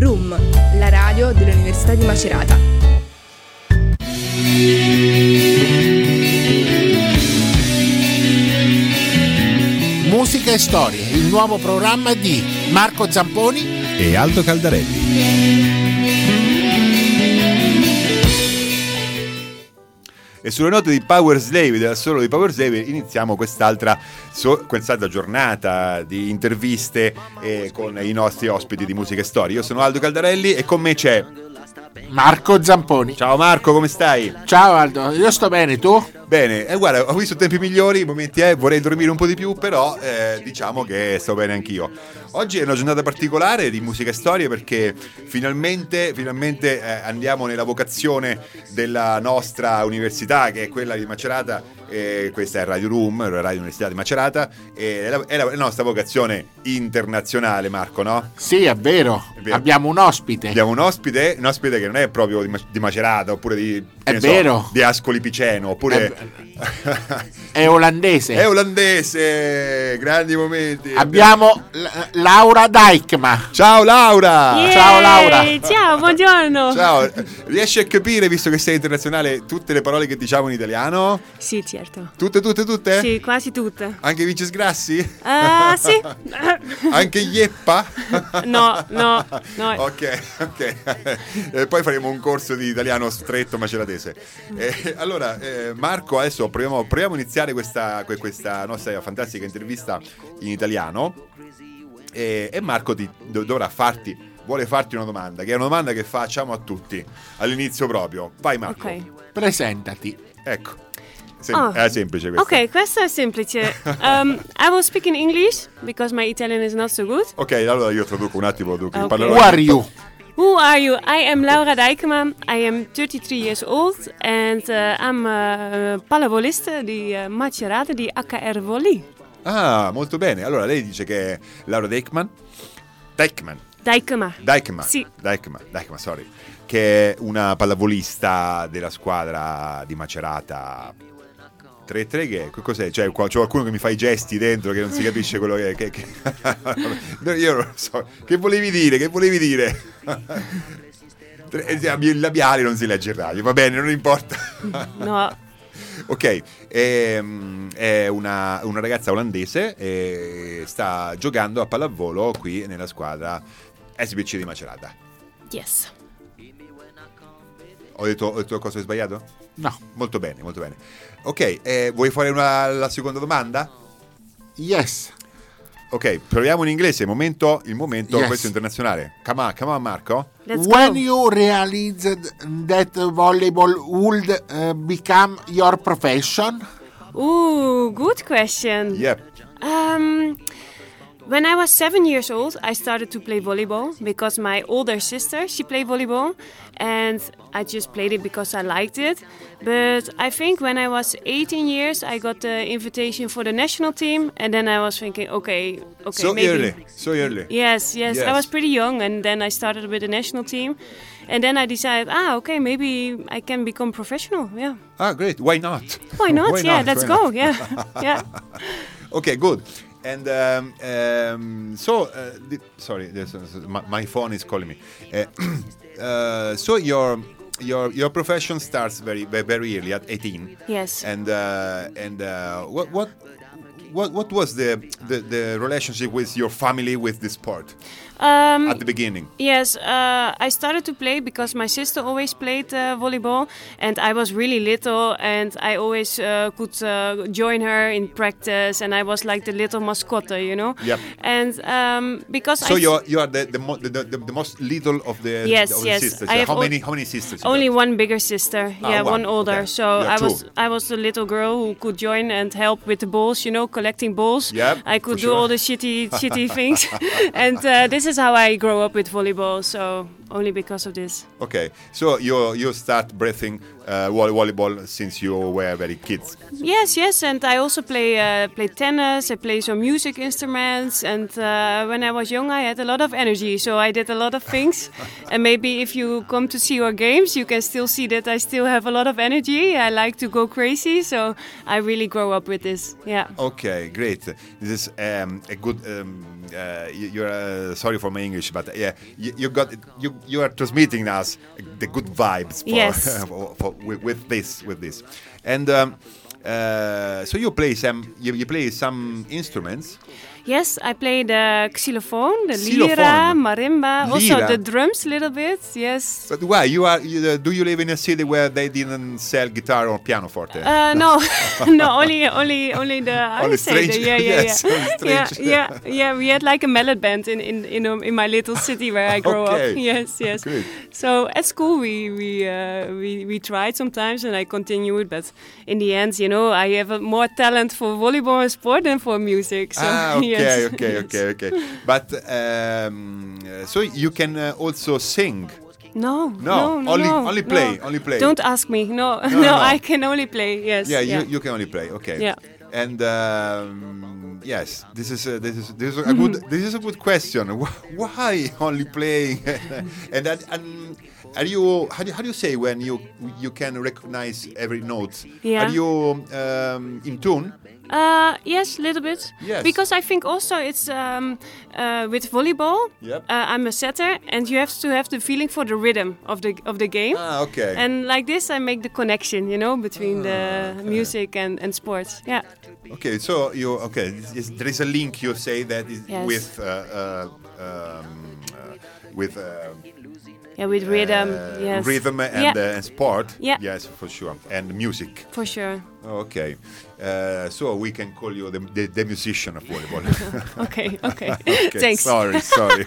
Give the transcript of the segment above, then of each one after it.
RUM, la radio dell'Università di Macerata. Musica e storie, il nuovo programma di Marco Zamponi e Aldo Caldarelli. E sulle note di Power Slave, del solo di Power Slave, iniziamo quest'altra giornata di interviste con i nostri ospiti di Musica e Storie. Io sono Aldo Caldarelli e con me c'è Marco Zamponi. Ciao Marco, come stai? Ciao Aldo, io sto bene, tu? Bene, guarda, ho visto tempi migliori, momenti vorrei dormire un po' di più, però diciamo che sto bene anch'io. Oggi è una giornata particolare di Musica e Storie perché finalmente andiamo nella vocazione della nostra università, che è quella di Macerata. Questa è Radio RUM, la Radio Università di Macerata, è la nostra vocazione internazionale, Marco, no? Sì, è vero. Abbiamo un ospite. Abbiamo un ospite che non è proprio di Macerata, oppure di Ascoli Piceno, oppure è olandese. È olandese, grandi momenti. Abbiamo Laura Dijkma. Ciao Laura. Yeah, ciao Laura. Ciao, buongiorno. Ciao. Riesci a capire, visto che sei internazionale, tutte le parole che diciamo in italiano? Sì, certo. Tutte? Sì, quasi tutte. Anche Vince Sgrassi? Sì. Anche Ieppa? No. Ok. Poi faremo un corso di italiano stretto maceratese. Allora, Marco, adesso proviamo a iniziare questa nostra fantastica intervista in italiano. E Marco vuole farti una domanda, che è una domanda che facciamo a tutti all'inizio proprio. Vai Marco. Ok. Presentati. Ecco. È semplice questo. Ok, questo è semplice. I will speak in English because my Italian is not so good. Ok, allora io traduco un attimo. Okay. Who are you? Who are you? I am Laura Dijkma. I am 33 years old and I'm a pallavolist di Macerata di HR Volley. Ah, molto bene. Allora lei dice che è Laura Dijkma. Sì. Dijkma, sorry. Che è una pallavolista della squadra di Macerata. 3-3 che cos'è? Cioè, c'è qualcuno che mi fa i gesti dentro che non si capisce quello che... Io non so. Che volevi dire? Il labiale non si legge in radio, va bene, non importa. No. Ok, è una ragazza olandese e sta giocando a pallavolo qui nella squadra SBC di Macerata. Yes. Ho detto qualcosa di sbagliato? No. Molto bene. Ok, vuoi fare la seconda domanda? Yes. Ok, proviamo in inglese, il momento yes. Questo internazionale. Come on Marco. Let's When go. you realized that volleyball would become your profession? Ooh, good question. Yep. When I was 7 years old, I started to play volleyball because my older sister, she played volleyball and I just played it because I liked it. But I think when I was 18 years, I got the invitation for the national team and then I was thinking, okay, So maybe. early. Yes. I was pretty young and then I started with the national team. And then I decided, okay, maybe I can become professional, yeah. Ah, great. Why not? Why not? Let's go, yeah. Okay, good. And sorry, my phone is calling me. So your profession starts very early at 18. Yes. And what was the relationship with your family with the sport at the beginning? Yes, I started to play because my sister always played volleyball and I was really little and I always could join her in practice and I was like the little mascotte, you know? Yep. And because you are the most little of the sisters. I have how many sisters? Only one bigger sister, one older. Okay. So Yeah, I was the little girl who could join and help with the balls, you know, collecting balls. Yep, I could do sure. all the shitty things. And this is how I grew up with volleyball. So only because of this. Okay, so you start breathing volleyball since you were very kids. Yes, and I also play tennis. I play some music instruments, and when I was young, I had a lot of energy, so I did a lot of things. And maybe if you come to see our games, you can still see that I still have a lot of energy. I like to go crazy, so I really grow up with this. Yeah. Okay, great. This is a good. You're sorry for my English, but yeah, you are transmitting us the good vibes. Yes. With this, and so you play some instruments. Yes, I play the xylophone, the lira, marimba, also the drums a little bit. Yes. But why do you live in a city where they didn't sell guitar or pianoforte? No, only the strange. Yeah. We had like a mallet band in my little city where I grew up. Yes. Good. So at school we tried sometimes, and I continued, but in the end, I have more talent for volleyball and sport than for music. So. Okay. But so you can also sing. No. Only play. Don't ask me. No. I can only play. Yes. Yeah. You can only play. Okay. Yeah. And yes, this is a good question. Why only playing? and are you how do you say when you can recognize every note? Yeah. Are you in tune? Yes, a little bit. Yes. Because I think also it's with volleyball. Yep. I'm a setter, and you have to have the feeling for the rhythm of the game. Okay. And like this, I make the connection, between the music and sports. Yeah. Okay, so there is a link. You say that is Yes. with with rhythm. Yes. Rhythm and sport. Yeah. Yes, for sure, and music. For sure. Okay, so we can call you the musician of volleyball. Okay. Okay, Thanks. Sorry.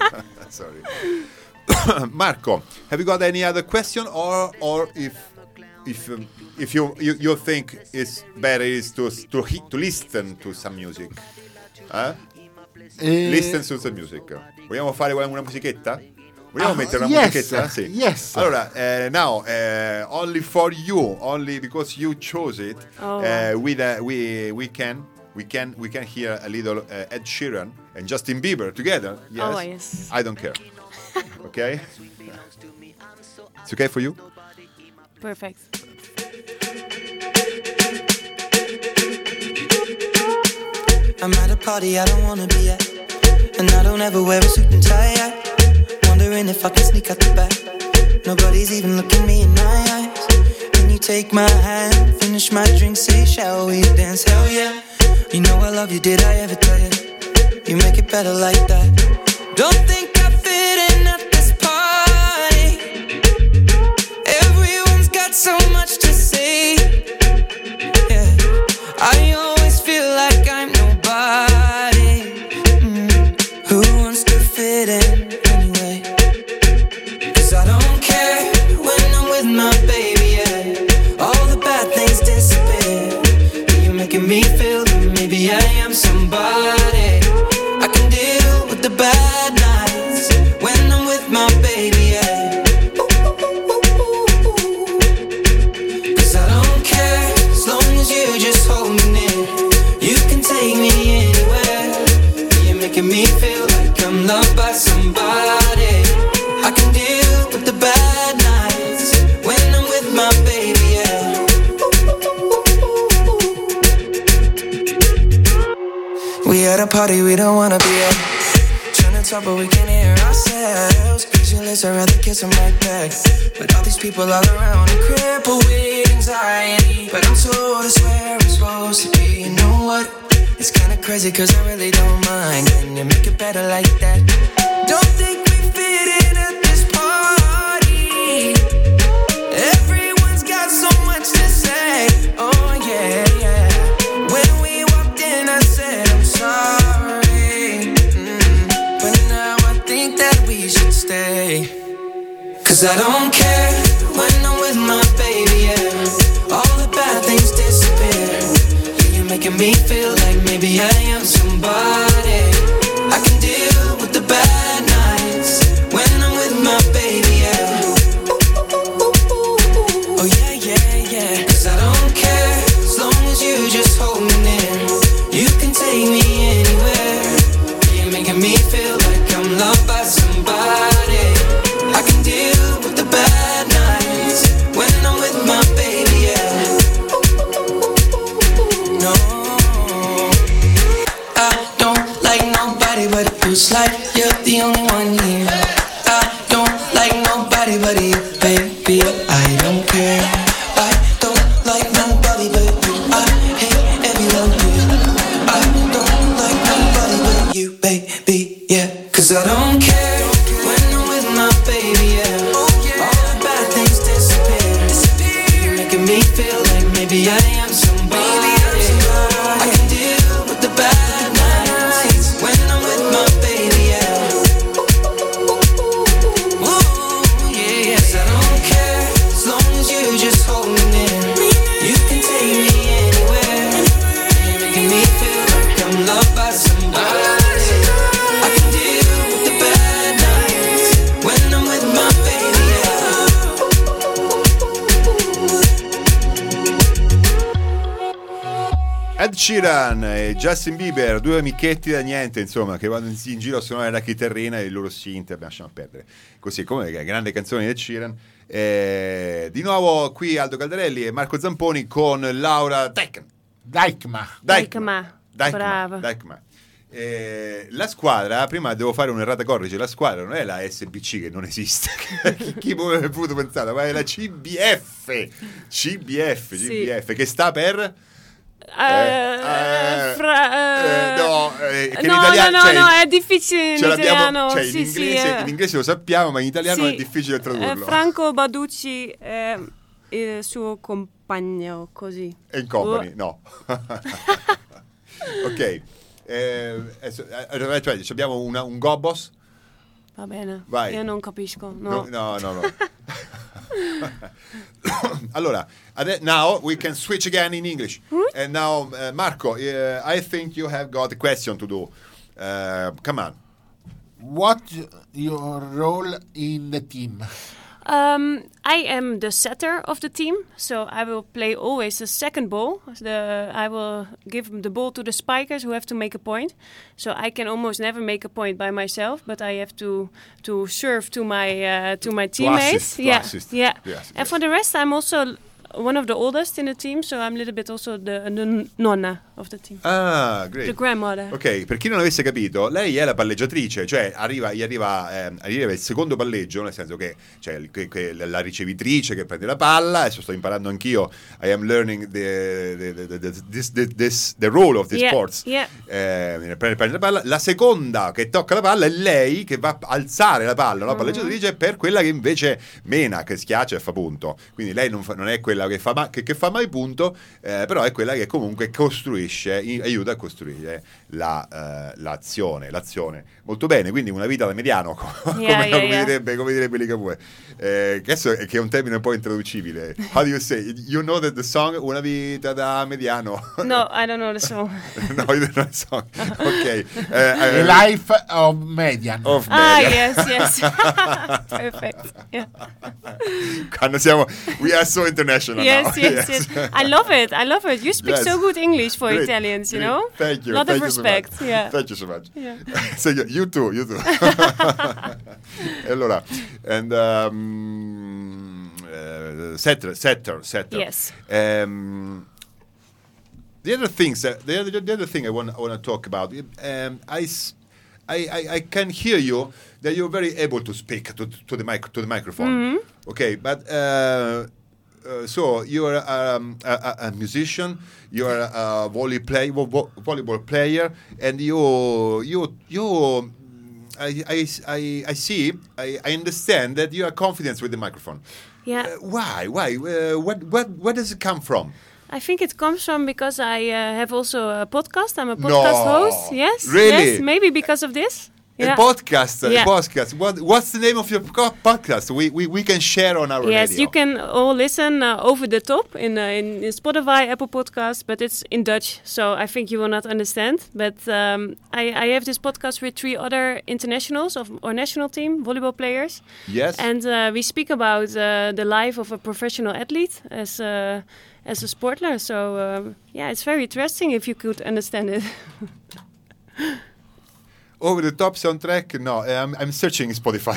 Marco, have you got any other question, or if you think it's better is to listen to some music? Listen to some music. Vogliamo fare una musichetta? Vogliamo mettere una musichetta? Sì. Yes. Allora, now only for you, only because you chose it. We can hear a little Ed Sheeran and Justin Bieber together. Yes. Oh, yes. I don't care. Okay. It's okay for you? Perfect. I'm at a party I don't wanna be at, and I don't ever wear a suit and tie at. Wondering if I can sneak out the back. Nobody's even looking me in my eyes. Can you take my hand, finish my drink, say shall we dance? Hell yeah. You know I love you, did I ever tell you? You make it better like that. Don't think I fit in at this party. Everyone's got so much to say. Yeah, I always feel like I'm nobody. Who wants to fit in anyway? 'Cause I don't care when I'm with my baby, yeah. All the bad things disappear. You're making me feel that maybe I am somebody. I can deal with the bad nights when I'm with my baby, yeah. 'Cause I don't care as long as you just hold me near. You can take me anywhere. You're making me feel like I'm loved by somebody. I can deal with the bad nights when I'm with my baby, yeah. We at a party we don't wanna be at. Trying to talk but we can't hear ourselves. Speechless, I'd rather kiss them right back. But all these people all around and crippled with anxiety. But I'm told it's where I'm supposed to be. You know what? It's kinda crazy 'cause I really don't mind. Can you make it better like that? Don't think we fit in at this party. Everyone's got so much to say. Oh yeah, yeah. When we walked in I said I'm sorry. But now I think that we should stay. 'Cause I don't care when I'm with my baby, yeah. All the bad things disappear. You're making me feel like maybe I am somebody. I can deal with the bad nights when I'm with my baby, Feels like you're the only one here. I don't like nobody but you, baby. I don't care. I don't like nobody but you. I hate everyone here. I don't like nobody but you, baby. Yeah, 'cause I don't care when I'm with my baby. Yeah, all the bad things disappear. You're making me feel like maybe I am somebody. I can deal with the bad nights when I'm with my baby. Yeah. Ooh, yeah, yes, I don't care as long as you just hold me near. You can take me anywhere. You're making me feel like I'm loved by somebody. I can deal with the bad nights when I'm with my baby. Ed Sheeran e Justin Bieber, due amichetti da niente, insomma, che vanno in giro a suonare la chitarrina e il loro synth, lasciamo perdere. Così, come grande canzone di Ed Sheeran. Di nuovo qui Aldo Caldarelli e Marco Zamponi con Laura Dijkma. Brava. La squadra, prima devo fare un'errata corrige, la squadra non è la SBC che non esiste, chi avrebbe potuto pensare, ma è la CBF, Sì. che sta per... Che in italiano, no, è difficile in italiano. Cioè, Sì, in inglese lo sappiamo, ma in italiano è difficile tradurlo. Franco Baducci, il suo compagno, così. E in company, no. Ok. Cioè, abbiamo un Gobos. Va bene. Vai. Io non capisco. No. No. Allora, now we can switch again in English. And now, Marco, I think you have got a question to do. Come on. What's your role in the team? I am the setter of the team, so I will play always the second ball. I will give the ball to the spikers who have to make a point. So I can almost never make a point by myself, but I have to serve to my teammates. Assist. Yeah. Yes, And for the rest, I'm also one of the oldest in the team, so I'm a little bit also the nonna of the team. Ah, great. The grandmother. Ok, per chi non avesse capito, lei è la palleggiatrice, cioè arriva il secondo palleggio, nel senso che c'è la ricevitrice che prende la palla. Adesso sto imparando anch'io. I am learning the role of the sports. Yeah. Prende la palla. La seconda che tocca la palla è lei che va a alzare la palla, la palleggiatrice, per quella che invece mena, che schiaccia e fa punto. Quindi lei non è quella che fa mai punto, però è quella che comunque costruisce, aiuta a costruire l'azione. Molto bene, quindi una vita da mediano, come direbbe Ligabue. Che è un termine un po' intraducibile. How do you say? You know that the song Una vita da mediano? No, I don't know the song. No, you don't know the song. Ok. The life of median. Yes. Perfect. Yeah. Quando we are so international now. Yes. I love it. You speak so good English for Great. Italians, you know? Thank you. Lot Thank of you respect. So Yeah. Thank you so much. Yeah. So you too. Allora, and setter. Yes. The other thing I want to talk about. I can hear you that you're very able to speak to the microphone. Mm-hmm. Okay, but so you are a musician, you are a volleyball player, and I understand that you are confident with the microphone. Yeah. Why? Where does it come from? I think it comes from because I have also a podcast. I'm a podcast host. Yes. Really? Yes. Maybe because of this. A podcast. Yeah. What's the name of your podcast? We can share on our radio. Yes, you can all listen over the top in Spotify, Apple Podcasts, but it's in Dutch, so I think you will not understand. But I have this podcast with 3 other internationals of our national team, volleyball players. Yes. And we speak about the life of a professional athlete as a sportler. So it's very interesting if you could understand it. Over the top soundtrack? No, I'm searching Spotify.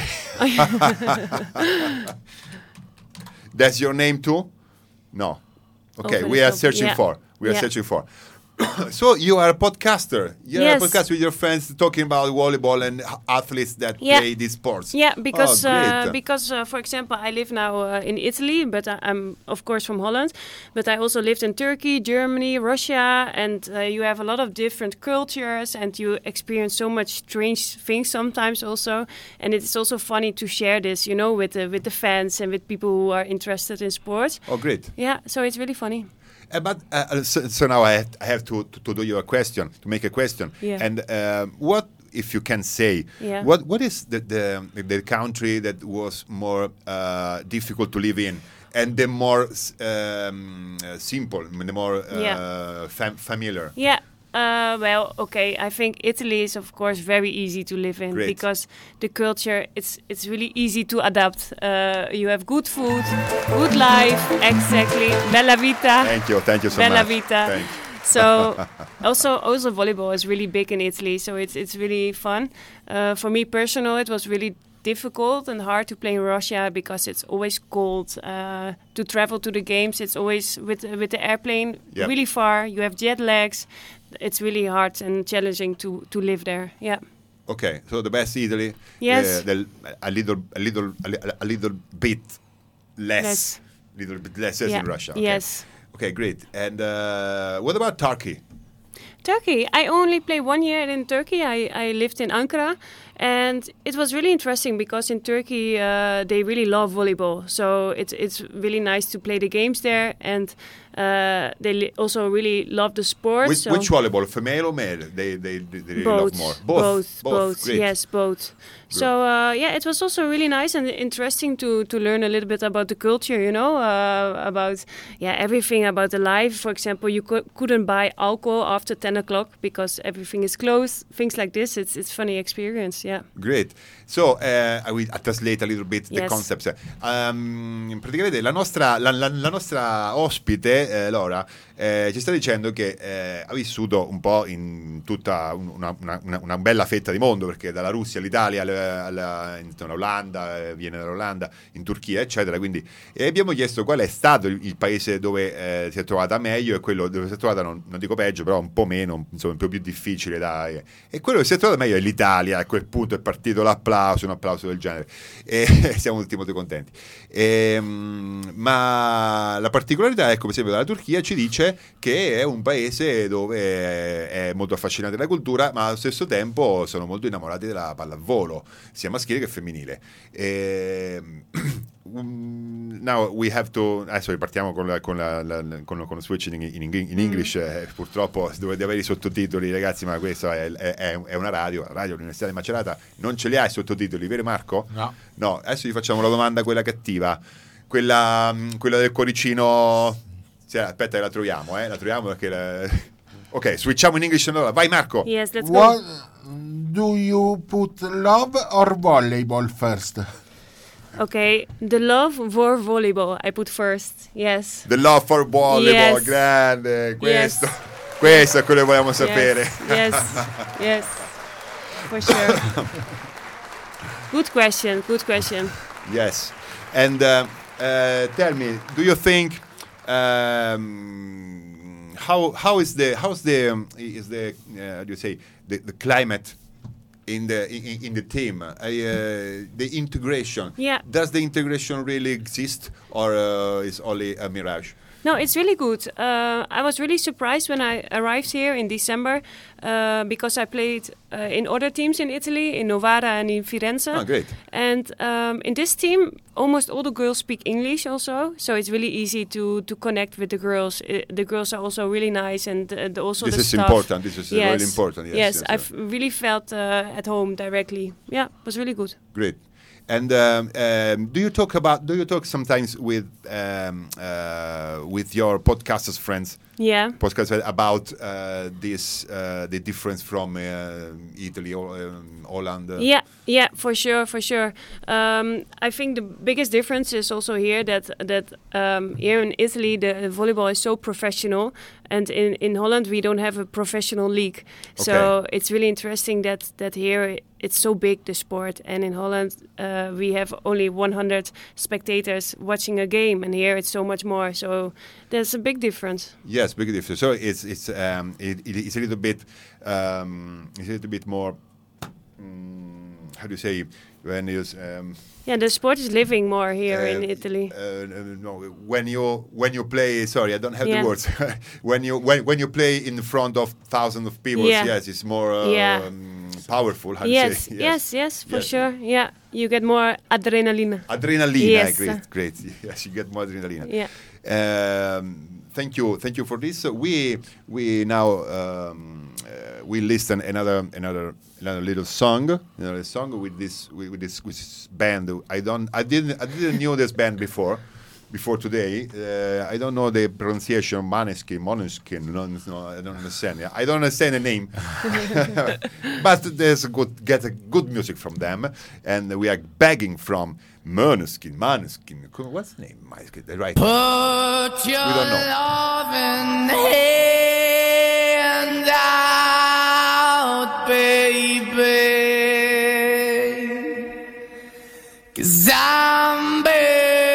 That's your name too? No. Okay, we are searching for. Searching for. So you are a podcaster. You're Yes. a podcaster with your friends talking about volleyball and athletes that Yeah. play these sports. Yeah, because great. for example, I live now in Italy, but I'm of course from Holland. But I also lived in Turkey, Germany, Russia, and you have a lot of different cultures, and you experience so much strange things sometimes also. And it's also funny to share this, with the fans and with people who are interested in sports. Oh, great. Yeah, so it's really funny. But so now I have to do you a question, to make a question. Yeah. And what, if you can say, Yeah. what is the country that was more difficult to live in, and the more simple, the more familiar? Yeah. Well, okay. I think Italy is, of course, very easy to live in Great. because the culture it's really easy to adapt. You have good food, good life, exactly. Bella vita. Thank you so Bella much. vita. Thanks. So also volleyball is really big in Italy, so it's really fun. For me personal, it was really difficult and hard to play in Russia because it's always cold. To travel to the games, it's always with the airplane Yep. really far. You have jet lags. It's really hard and challenging to live there. Yeah. Okay, so the best Italy. Yes. A little bit less. Little bit less as Yeah. in Russia. Okay. Yes. Okay, great. And what about Turkey? Turkey. I only played 1 year in Turkey. I lived in Ankara, and it was really interesting because in Turkey they really love volleyball. So it's really nice to play the games there, and they also really love the sport. Which volleyball, female or male? They really love more. Both. Great. Yes, both. So yeah, it was also really nice and interesting to learn a little bit about the culture. About everything about the life. For example, you couldn't buy alcohol after 10 o'clock because everything is closed. Things like this. It's funny experience. Yeah. Great. So I will translate a little bit the Yes. concepts. Praticamente la nostra ospite, Laura, ci sta dicendo che ha vissuto un po' in tutta una bella fetta di mondo, perché dalla Russia all'Italia, all'Olanda, viene dall'Olanda, in Turchia, eccetera. Quindi abbiamo chiesto qual è stato il paese dove si è trovata meglio e quello dove si è trovata, non dico peggio, però un po' meno, insomma, un po' più difficile. E quello che si è trovata meglio è l'Italia. A quel punto è partito un applauso del genere. E siamo tutti molto contenti. Ma la particolarità, ecco, per esempio, dalla Turchia ci dice che è un paese dove è molto affascinante la cultura, ma allo stesso tempo sono molto innamorati della pallavolo, sia maschile che femminile. Now we have to. Adesso ripartiamo con lo switching in English. Purtroppo devo avere i sottotitoli, ragazzi, ma questa è una radio dell'Università di Macerata. Non ce li ha i sottotitoli, vero Marco? No. Adesso gli facciamo la domanda, quella cattiva, quella del cuoricino. Sì, aspetta, la troviamo perché. Ok, switchiamo in English allora. Vai Marco. Yes, let's go. What do you put love or volleyball first? Okay, the love for volleyball I put first. Yes. The love for volleyball, Yes. grande. Questo Yes. questo è quello che volevamo sapere. Yes. For sure. Good question. Yes. And tell me, do you think how is the how do you say the climate in the team, the integration? Yeah. Does the integration really exist, or is only a mirage? No, it's really good. I was really surprised when I arrived here in December because I played in other teams in Italy, in Novara and in Firenze. Oh, great. And in this team, almost all the girls speak English also, so it's really easy to connect with the girls. The girls are also really nice, and also This the is staff. important. This is really important. Yes. I've really felt at home directly. Yeah, it was really good. Great. And do you talk sometimes with your podcasters friends? Yeah. Podcast about the difference from Italy or Holland. Yeah, for sure. I think the biggest difference is also here that here in Italy the volleyball is so professional, and in Holland we don't have a professional league. So it's really interesting that here it's so big, the sport, and in Holland we have only 100 spectators watching a game, and here it's so much more. So there's a big difference. Yes. Yes, big difference. So it's a little bit more. How do you say when you? The sport is living more here in Italy. No, when you play. Sorry, I don't have the words. when you play in front of thousands of people, yes, it's more powerful. How Yes, do you say? yes, for sure. Yeah, you get more adrenaline. Adrenaline, Yes. great. Yes, you get more adrenaline. Yeah. Thank you for this. We now we listen another little song, with this band. I didn't know this band before today. I don't know the pronunciation. Måneskin. No, I don't understand. I don't understand the name, but there's get a good music from them, and we are begging from Måneskin. What's the name? Right. Put your We don't know. loving hand out, baby, 'cause I'm begging.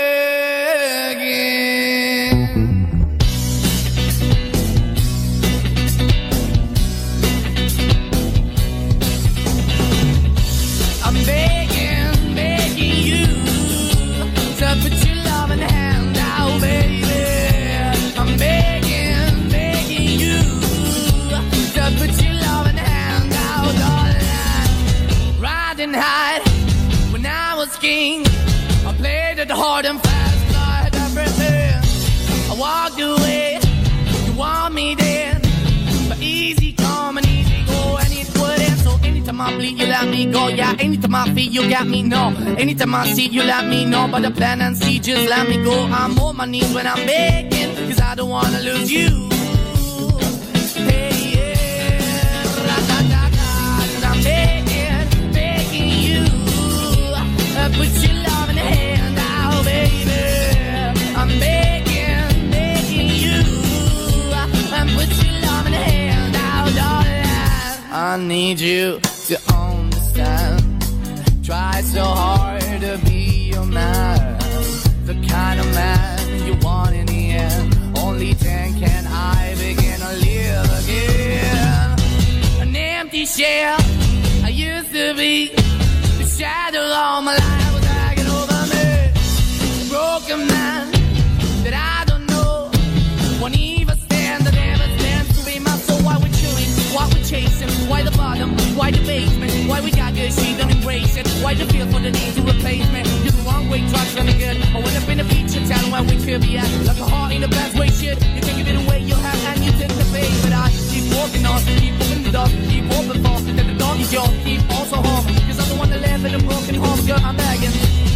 I'm begging you to put your loving hand out, baby. I'm begging you to put your loving hand out, darling. Riding high when I was king, I played it hard and fast, I had everything. I walked away, you want me then, but easy come and easy go, and it wouldn't. So anytime I bleed, you let me go. Yeah, anytime I feel, you got me, no. Anytime I see, you let me know. But the plan and see, just let me go. I'm on my knees when I'm begging, 'cause I don't wanna lose you. Hey, yeah, ra-da-da-da, 'cause I'm begging you. Put your love in the hand out, baby. I'm begging you. Put your love in the hand out, darling. I need you to understand. Try so hard to be your man, the kind of man you want in the end. Only then can I begin to live again. An empty shell I used to be, the shadow all my life was hanging over me. A broken man that I don't know, won't even stand, that never stands to be my soul. Why we chewing, why we chasing, why the bottom, why the basement, why we got good, she don't embrace it, why the feel for the need to replace me. You're the wrong way, try to be good. I went up in a feature town where we could be at, like a heart in the best way, shit. You can give it away, you have, and you take the bait. But I keep walking on, keep moving the dog, keep open for, that the dog is yours, keep also home. 'Cause I'm the one that live in a broken home, girl, I'm begging.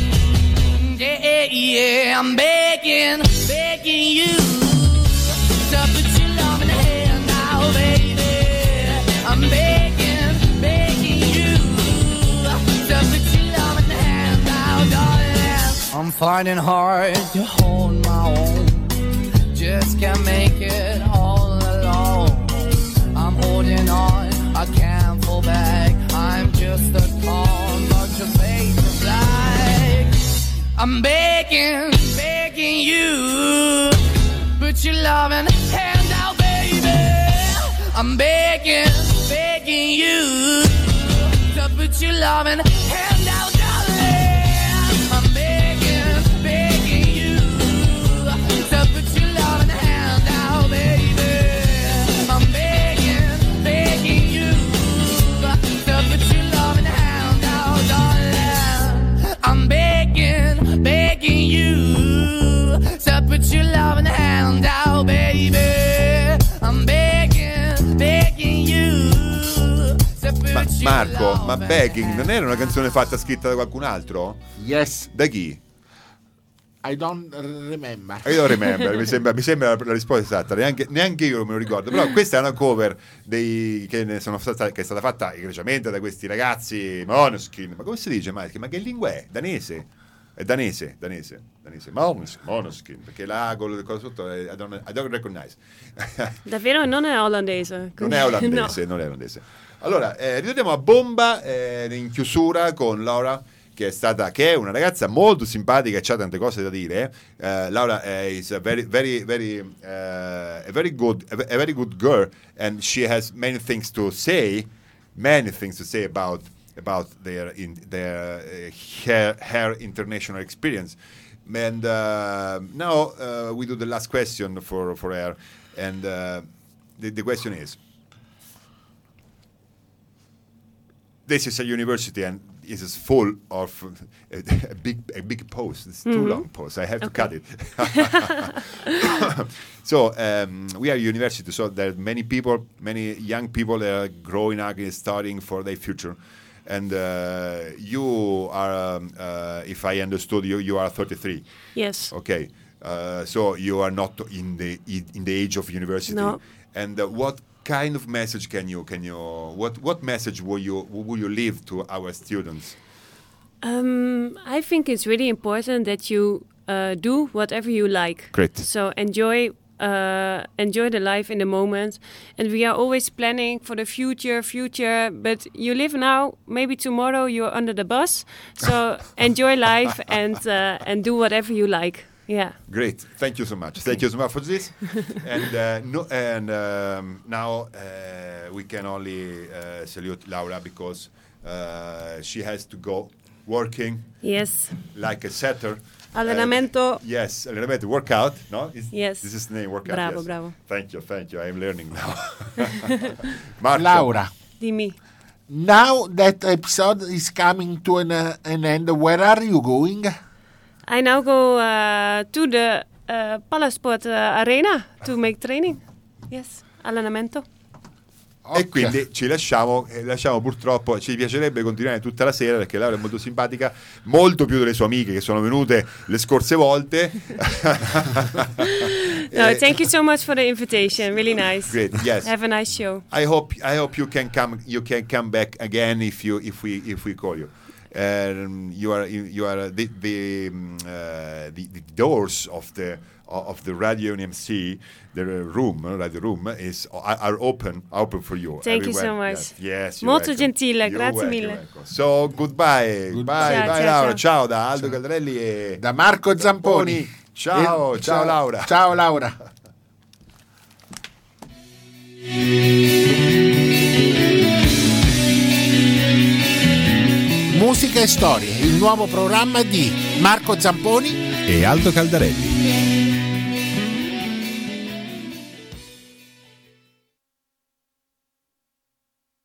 Yeah, I'm begging you to put your love in the hand now, baby. I'm begging you to put your love in the hand now, darling. I'm finding hard to hold my own, just can't make it all alone. I'm holding on, I can't fall back. I'm just a call, but your face is black. I'm begging you, put your loving hand out, baby. I'm begging you to put your loving hand out, darling. I'm begging you to put your loving hand out, baby. I'm begging you to put your loving hand out, darling. I'm begging you to put your loving hand out, baby. I'm begging you to put your Marco, ma loving Begging non hand era una canzone fatta scritta da qualcun altro? Yes, Da chi? I don't remember. Io remember, mi sembra la risposta esatta, neanche io me lo ricordo, però questa è una cover che è stata fatta egregiamente da questi ragazzi Måneskin. Ma come si dice, Mike? Ma che lingua è? Danese? È danese. Måneskin, perché la con cosa sotto I don't recognize. Davvero non è olandese. Non è olandese. Allora, ritorniamo a bomba in chiusura con Laura, che è una ragazza molto simpatica e c'ha tante cose da dire. Laura is a very good girl, and she has many things to say about their her international experience. And now we do the last question for her, and the question is: this is a university and it is full of a big post. It's too long post. I have to cut it. So we are a university, so there are many young people that are growing up and studying for their future. And you are, if I understood you are 33. Yes. Okay. So you are not in the age of university. No. And what kind of message what message will you leave to our students? I think it's really important that you do whatever you like. Great. So enjoy the life in the moment, and we are always planning for the future, but you live now, maybe tomorrow you're under the bus, so enjoy life and do whatever you like. Yeah. Great. Thank you so much. Thank you so much for this. And now we can only salute Laura because she has to go working. Yes. Like a setter. Allenamento. Yes, allenamento, workout, no? Yes. This is the name, workout. Bravo, yes. bravo. Thank you. I'm learning now. Marco. Laura, Dimmi. now that episode is coming to an end, where are you going? I now go to the Palasport Arena to make training. Yes, allenamento. E quindi ci lasciamo purtroppo. Ci piacerebbe continuare tutta la sera perché Laura è molto simpatica, molto più delle sue amiche che sono venute le scorse volte. No, thank you so much for the invitation. Really nice. Great. Yes. Have a nice show. I hope you can come back again if we call you. You are the doors of the Radio NMC, the radio room are open for you. Thank you so much. Yes, molto gentile, grazie mille. So goodbye. Bye Laura. Ciao da Aldo Caldarelli e da Marco Zamponi. Ciao Laura. Ciao Laura. Musica e storie, il nuovo programma di Marco Zamponi e Aldo Caldarelli.